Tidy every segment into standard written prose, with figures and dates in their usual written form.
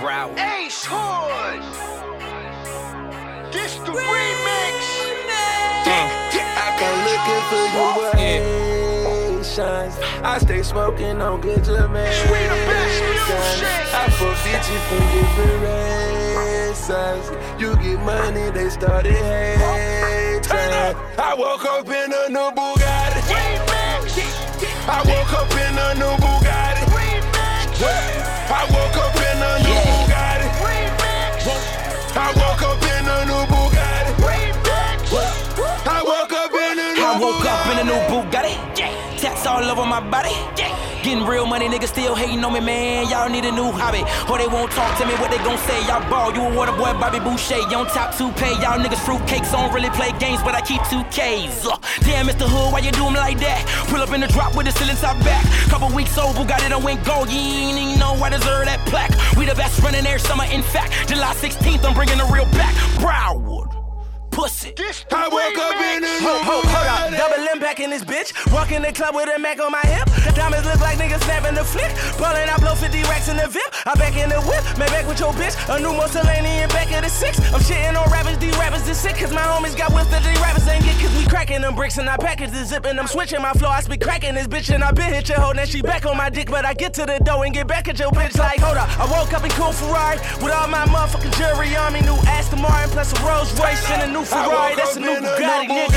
Broward. Ace Hood. This the remix. I come looking for you Haitians. I stay smoking on good Jamaicans. We the best music. I forbid you from different races. You get money, they started hating. I woke up in a new Bugatti. I woke up in a new Bugatti. I woke up in a new Bugatti. I woke up in a new Bugatti. I woke up in a new Bugatti. I woke up in a new Bugatti. Tats all over my body. Getting real money, niggas still hating on me, man. Y'all need a new hobby, or they won't talk to me. What they gon' say? Y'all ball, you a water boy, Bobby Boucher. You on top 2Pay. Y'all niggas fruitcakes. Don't really play games, but I keep 2Ks. Damn, Mr. Hood, why you do 'em like that? Pull up in the drop with the ceiling top back. Couple weeks old, Bugatti done went gold. You ain't even know I deserve that plaque. We the best running air summer, in fact. July 16th, I'm bringing the real back. Broward. Pussy. I woke up in a new Hold up, double impact in this bitch. Walk in the club with a Mac on my hip. Diamonds look like niggas snapping the flick. Ballin', I blow 50 racks in the VIP. I back in the whip, made back with your bitch. A new Mussolini back of the 6. I'm shitting on rappers, these rappers is sick. Cause my homies got whips that these rappers ain't get. Cause we cracking them bricks and I package the zip. And I'm switching my flow, I speak cracking this bitch. And I been hit your hoe, now she back on my dick. But I get to the door and get back at your bitch like, hold up. I woke up in cool Ferrari with all my motherfucking jewelry on me. New Aston Martin plus a Rolls Royce and a new Ferrari. That's a new Bugatti, nigga.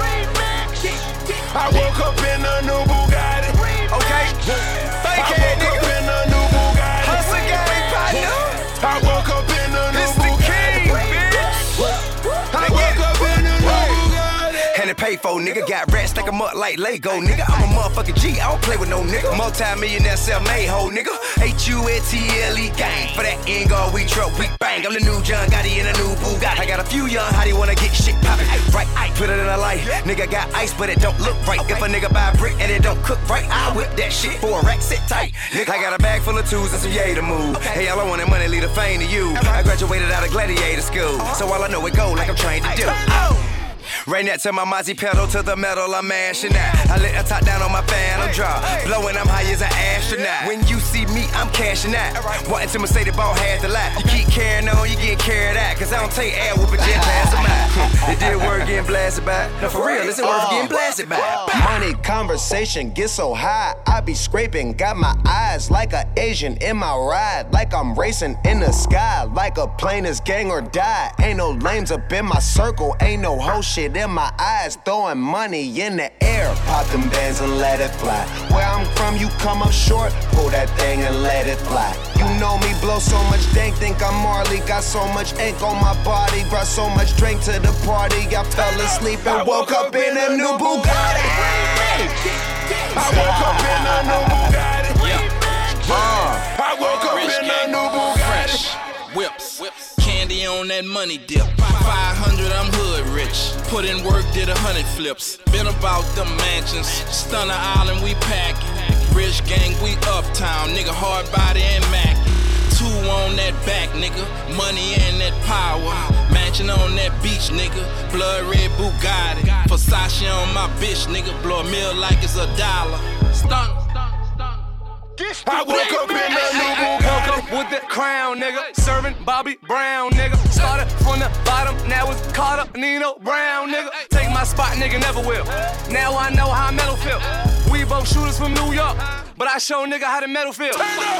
I woke up in a new Bugatti. Okay, fake it, nigga. I woke up in a new Bugatti. Hustle gang, partner. I woke up in a new This the king, bitch. I woke up in a new Bugatti. And it pay for, nigga. Got rats, stack 'em up like Lego, nigga. I'm a motherfucking G, I don't play with no nigga. Multi-millionaire self-made hoe, nigga. H-U-N-T-L-E gang. For that end all we truck, we bang. I'm the new John Gotti in a new Bugatti. I got a few young hottie wanna get shit poppin'. Right, I put it in a light. Nigga got ice, but it don't look right. If a nigga buy a brick and it don't cook right, I whip that shit for a rack, sit tight. Nigga, I got a bag full of tools and some yay to move. Hey, all I want is money, leave the fame to you. I graduated out of gladiator school, so all I know is go like I'm trained to do. Rain that to my Mozzie pedal to the metal, I'm mashing out. I let the top down on my phantom drop. Blowing, I'm high as an astronaut. When you see me, I'm cashing out. Wanting to Mercedes ball had the lot. You keep carrying on, you get carried out. Cause I don't take air whooping, just pass them out. It did work getting blasted by. No, for real, this ain't worth getting blasted by. Money conversation get so high, I be scraping. Got my eyes like an Asian in my ride. Like I'm racing in the sky. Like a plane is gang or die. Ain't no lames up in my circle. Ain't no whole shit in my eyes. Throwing money in the air. Pop them bands and let it fly. Where I'm from, you come up short. Pull that thing and let it fly. You know me, blow so much dank. Think I'm Marley. Got so much ink on my body. Brought so much drink to the party. I fell asleep and woke up in a new Bugatti. I woke up in a new Bugatti. I woke up in a new Bugatti. Whips. Candy on that money dip. 500, I'm hood rich. Put in work, did 100 flips. Been about them mansions. Stunner Island, we packing. Rich gang, we uptown. Nigga, hard body and Mac. 2 on that back, nigga. Money and that power. Mansion on that beach, nigga. Blood red Bugatti. Versace on my bitch, nigga. Blow a meal like it's $1. Stunner. I woke up in a new Bugatti. Woke up with the crown, nigga. Serving Bobby Brown, nigga. Started from the bottom, now it's Carter, Nino Brown, nigga. Take my spot, nigga, never will. Now I know how metal feel. We both shooters from New York, but I show nigga how the metal feel.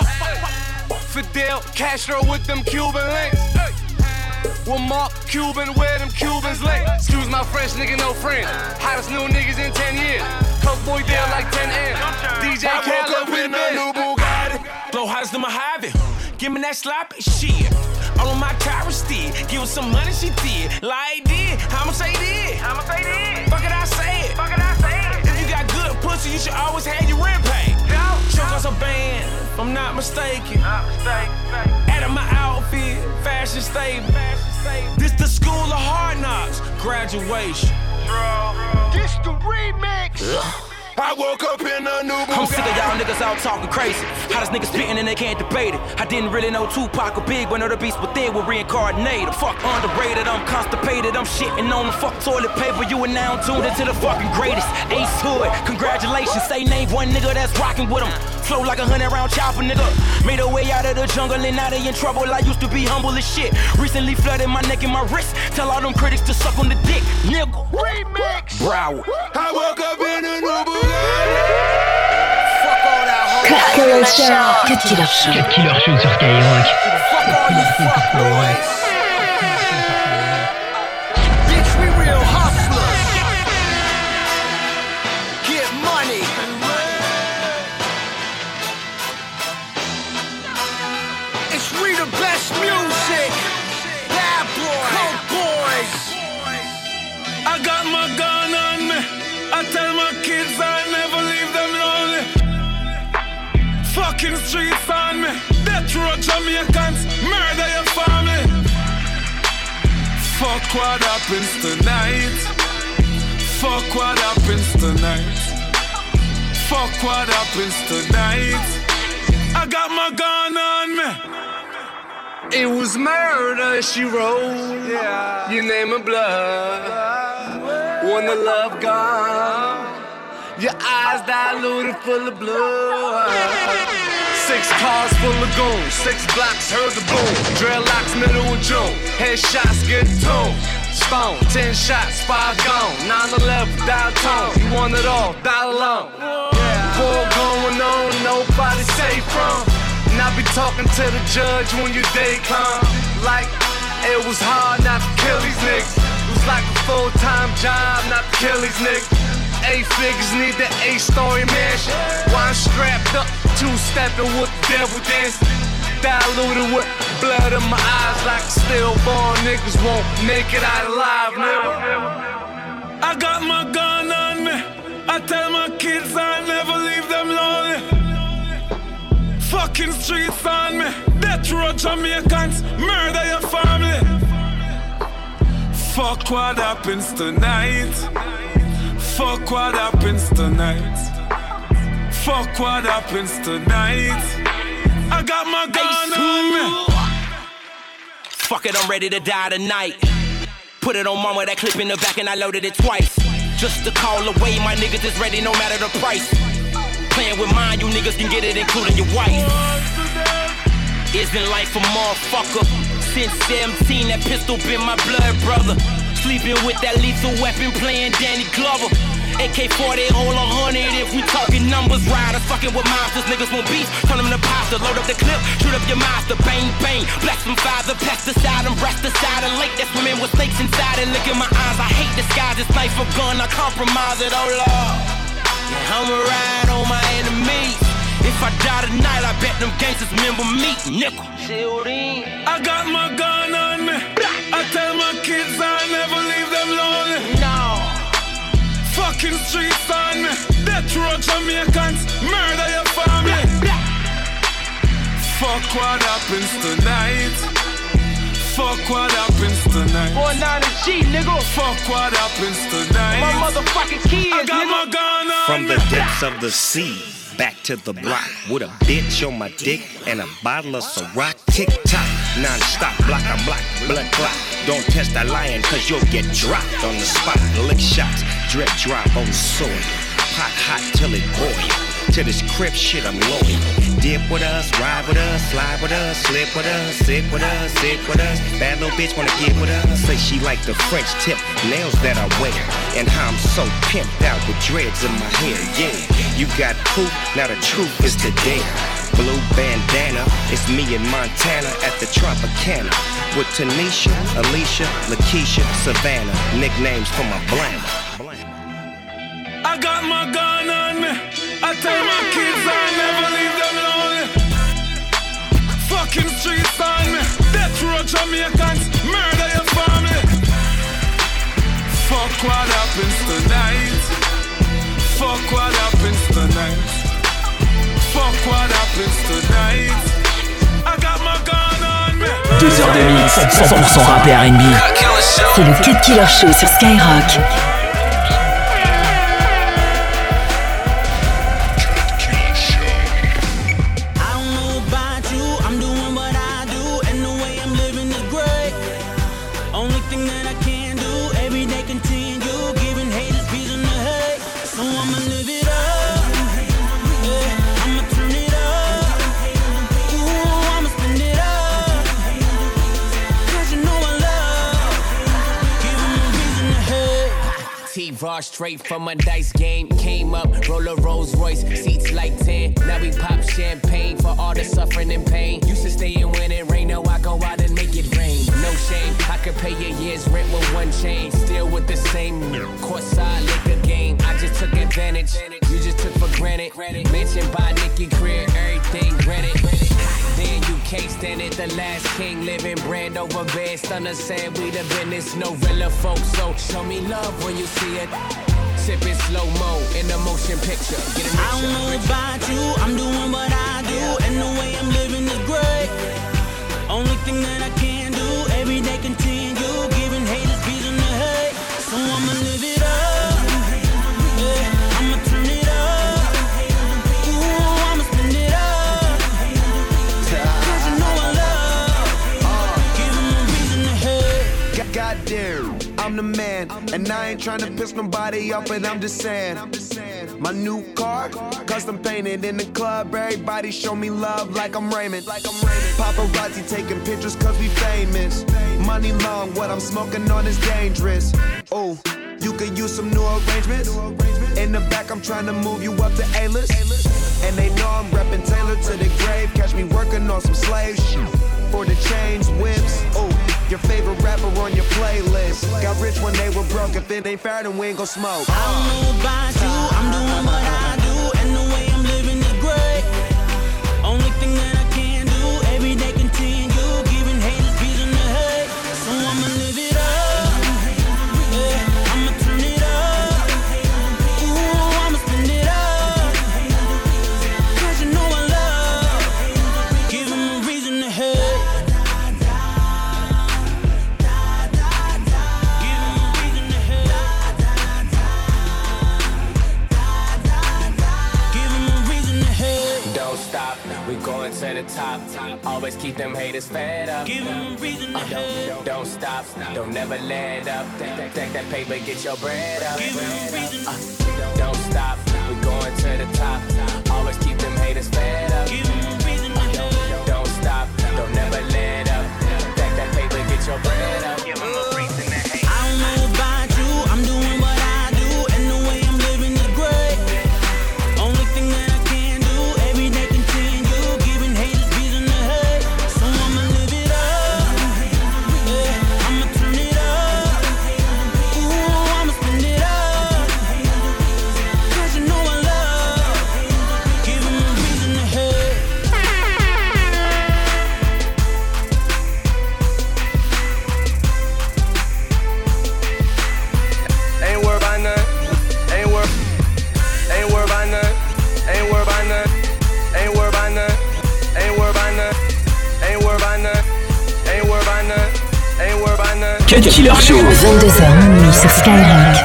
Fidel Castro with them Cuban links. With Mark Cuban, where them Cubans lay. Excuse my French, nigga, no friend. Hottest new niggas in 10 years. Coke boy deal like 10 M. DJ Khaled with a new Bugatti. Blow hottest than my Mojave. Give me that sloppy shit. All on my Tyra stick. Give her some money, she did. Like did. I'ma say did. Fuck it, I say it. If you got good pussy, you should always have your rent paid. Choke us a band, if I'm not mistaken. Out of my outfit, fashion stable. This the school of hard knocks, graduation. This the remix. I woke up in a new Bugatti. I'm sick of y'all niggas out talking crazy. Hottest niggas spitting and they can't debate it. I didn't really know Tupac or Big, but know the beast within were reincarnated. Fuck underrated, I'm constipated, I'm shitting on the fuck toilet paper. You are now tuned into the fucking greatest. Ace Hood, congratulations. Say name one nigga that's rocking with him. Flow like 100-round chopper, nigga. Made a way out of the jungle and now they in trouble. I used to be humble as shit. Recently flooded my neck and my wrist. Tell all them critics to suck on the dick, nigga. Remix. Broward. I woke up in a new Bugatti. Fuck all that hoe. Cut Killer Show. Cut Killer Show sur Skyrock. Fuck all you fuck boys. Bitch, we real hustlers. Get money. It's we the best music. Bad boy. Coke boys. I got my gun on me. I tell my kids I never leave them lonely. Fucking streets on me. Death row Jamaicans, murder your family. Fuck what happens tonight. Fuck what happens tonight. Fuck what happens tonight. I got my gun on me. It was murder, she wrote. Yeah. You name it blood. Wanna love God. Your eyes diluted full of blood. 6 cars full of goons. 6 blocks heard the boom. Dreadlocks middle of June. Headshots get tuned. Stone, 10 shots, 5 gone. 9/11 downtown. You want it all, die alone. War going on, nobody safe from. And I be talking to the judge when your day come. Like, it was hard not to kill these niggas. It was like a full-time job not to kill these niggas. 8 figures need the 8-story mansion. Why I'm strapped up, 2-stepping with the devil dance. Diluted with blood in my eyes like stillborn niggas won't make it out alive, nigga. I got my gun on me. I tell my kids I never leave them lonely. Fucking streets on me. Death row Jamaicans, murder your family. Fuck what happens tonight. Fuck what happens tonight. Fuck what happens tonight. I got my gun on me. Fuck it, I'm ready to die tonight. Put it on mama, that clip in the back and I loaded it twice. Just to call away, my niggas is ready no matter the price. Playing with mine, you niggas can get it including your wife. Isn't life a motherfucker? Since 17, that pistol been my blood brother. Sleeping with that lethal weapon, playing Danny Glover. AK-40, hold 100 if we talking numbers. Riders fucking with monsters, niggas want beef. Turn them to pasta, load up the clip, shoot up your master. Bang, bang, bless them father, pesticide and breast aside. And lake, that's women with snakes inside. And look in my eyes, I hate the skies. This knife or gun, I compromise it, oh Lord. Yeah, I'ma ride on my enemies. If I die tonight, I bet them gangsters remember me, nickel. I got my gun on me. I tell my kids I never leave them lonely. No. Fucking streets on me. Death row Jamaicans, murder your family. Fuck what happens tonight. Fuck what happens tonight. 49G, nigga. Fuck what happens tonight. My motherfucking kids, I got nigga. my gun on From me. the depths of the sea, back to the block with a bitch on my dick and a bottle of Ciroc. Tick-tock, non-stop, block on block, blood clot. Don't test that lion cause you'll get dropped on the spot. Lick shots, drip drop on the soil. Pot hot till it boil. To this crib shit I'm loyal. Dip with us, ride with us, slide with us, slip with us, sit with us, sit with us. Bad little bitch wanna get with us. Say she like the French tip nails that I wear. And how I'm so pimped out with dreads in my hair, yeah. You got proof, now the truth is the dare. Blue bandana, it's me in Montana at the Tropicana. With Tanisha, Alicia, Lakeisha, Savannah. Nicknames for my blank. I got my gun on me. I tell my kids I never leave them lonely. Fucking streets on me. Death row Jamaicans, murder your family. Fuck what happens tonight. Fuck what happens tonight. Fuck what happens tonight. I got my gun on me. 2 heures de mix, 100% rap et R&B. C'est le Cut Killer Show sur Skyrock. wave, raw straight from a dice game. Came up, roll a Rolls Royce, seats like 10. Now we pop champagne for all the suffering and pain. Used to stay in when it rain, now I go out and make it rain. No shame, I could pay a year's rent with one chain. Still with the same courtside liquor game. I just took advantage, you just took for granted. Mentioned by Nicky Greer, everything granted. Then you can't stand it, the last king living brand over bed. Stunner said we the business, no real folks. So show me love when you see it. Sipping slow-mo in the motion picture. I don't know about you, I'm doing what I do, and the way I'm living is great. Only thing that I can do, every day continue, giving haters reason to hate. So I'ma live it up, yeah, I'ma turn it up, ooh, I'ma spend it up, cause you know I love, giving them reason to hate. Goddamn, I'm the man, and I ain't tryna piss nobody off, but I'm just saying. My new car, custom painted in the club. Everybody show me love like I'm Raymond. Paparazzi taking pictures cause we famous. Money long, what I'm smoking on is dangerous. Oh, you could use some new arrangements. In the back, I'm trying to move you up to A-list. And they know I'm reppin' Taylor to the grave. Catch me working on some slave shit. For the chains, whips, oh, your favorite rapper on your playlist. Got rich when they were broke, if it ain't fair then we ain't gon' smoke. I don't know about you, I'm doing what I do, and the way I'm living is great. Only thing that I can do, every day continue, giving haters reason to hate. So I'ma live it up, yeah, I'ma turn it up, ooh, I'ma spend it up, cause you know I love, giving them reason to hate. Going to the top, always keep them haters fed up. Give them a reason to hate. Don't stop, don't never let up. Take that paper, get your bread up. Give them a reason. Don't stop, we going to the top. Always keep them haters fed up. Give them a reason to hate. Don't stop, don't never let up. Take that paper, get your bread up. Give them a reason to hate. I don't know about you, I'm doing what I do, and the way I'm living is great. Only thing that I can do, every day continue. Cut Killer Show. 22h minuit sur Skyrock.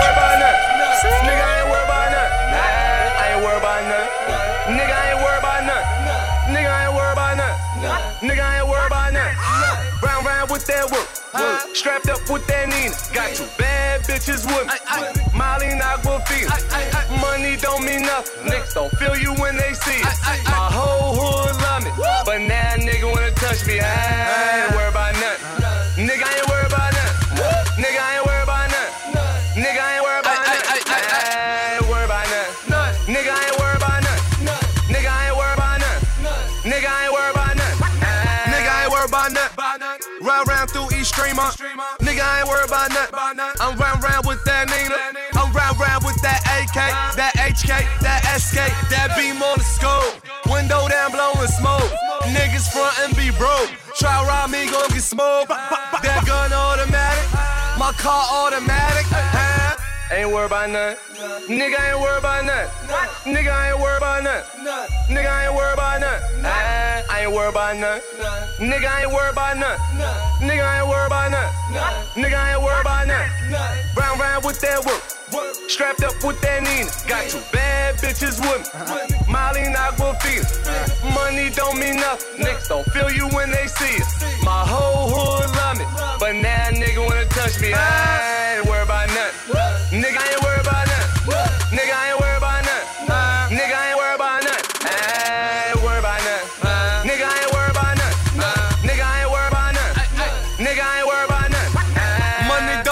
Strapped up with that Nina, got two bad bitches with me. Molly and Aquafina, money don't mean nothing. Niggas don't feel you when they see it. My whole hood love me, but now nigga wanna touch me. I ain't worried about nothing. Nigga I ain't worried about nothing. Nigga I ain't worried about nothing. Nigga I ain't worried about nothing. I ain't worried about nothing. Nigga I ain't worried about nothing. Nigga I ain't worried about nothing. Nigga I ain't worried about nothing. Nigga I ain't worried about nothing. Ride round through East Streamer. Nigga, I ain't worried about nothing. I'm round with that Nina. I'm round with that AK, that HK, that SK, that beam on the scope. Window down, blowing smoke. Niggas front and be broke. Try rob me, gon' get smoked. That gun automatic, my car automatic. Ain't worried about nothing. Nigga, I ain't worried about nothing. Nigga, I ain't worried about nothing. Nigga, I ain't worried about nothing. I ain't worried about nothing. Nigga, I ain't worried about nothing. Nigga, I ain't worried about nothing. Nigga, I ain't worried about nothing. Round with that work. Strapped up with that Nina. Got two bad bitches with me. Molly and Aquafina. Money don't mean nothing. Niggas don't feel you when they see it. My whole hood love me, but now nigga wanna touch me. I ain't worried about nothing. Nigga, I ain't worried about nothing. Nigga, I ain't worried about nothing. Nigga, I ain't worried about nothing. I ain't worried about nothing. Nigga, I ain't worried about nothing. Nigga, I ain't worried about nothing. Nigga, I ain't worried about nothing. Money don't mean nothing.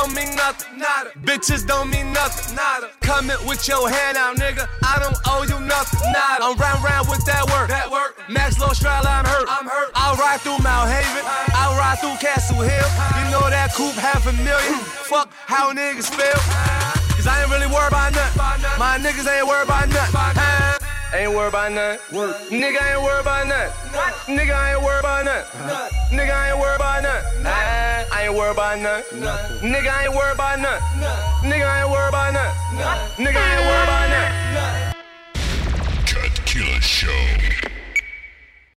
nothing. Nada. Bitches don't mean nothing. Nada. Coming with your hand out, nigga. I don't owe you nothing. Nada. I'm round with that work. Max Low Strala, I'm hurt. I'll ride through Mount Haven. I'll ride through Castle Hill. You know that coupe $500,000. Fuck how niggas feel. Cause I ain't really worried about nothing. My niggas ain't worried about nothing. Ain't worried about nothing. Nigga ain't worried about nothing. Nigga ain't worried about nothing. Nigga ain't worried about nothing. I ain't worried about nothing. Nigga ain't worried about nothing. Nigga ain't worried about nothing. Nigga ain't worried about nothing. Cut Killer Show.